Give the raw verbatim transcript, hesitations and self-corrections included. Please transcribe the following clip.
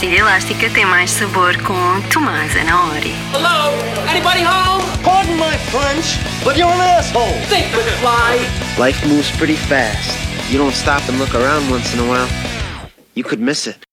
pastilha elástica tem mais sabor com Tomás Anaori. Hello? Anybody home? Pardon my French, but you're an asshole. Think with fly. Life moves pretty fast. You don't stop and look around once in a while, you could miss it.